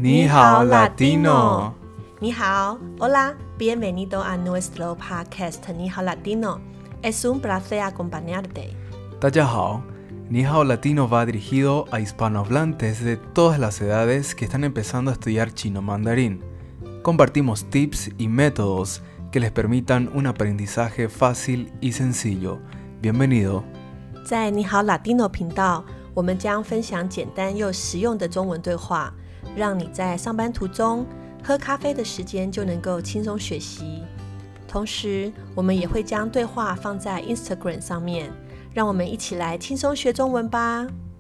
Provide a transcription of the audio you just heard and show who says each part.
Speaker 1: 你好 Latino。
Speaker 2: 你好 Hola, bienvenido a nuestro podcast 你好 Latino. Es un placer acompañarte.
Speaker 1: 大家好，你好 Latino va dirigido a hispanohablantes de todas las edades que están empezando a estudiar chino mandarín. Compartimos tips y métodos que les permitan un aprendizaje fácil y sencillo. Bienvenido。
Speaker 2: 在你好 Latino 頻道，我們將分享簡單又實用的中文對話，讓你在上班途中、喝咖啡的時間就能夠輕鬆學習。同時，我們也會將對話放在 Instagram 上面，讓我們一起來輕鬆學中文吧。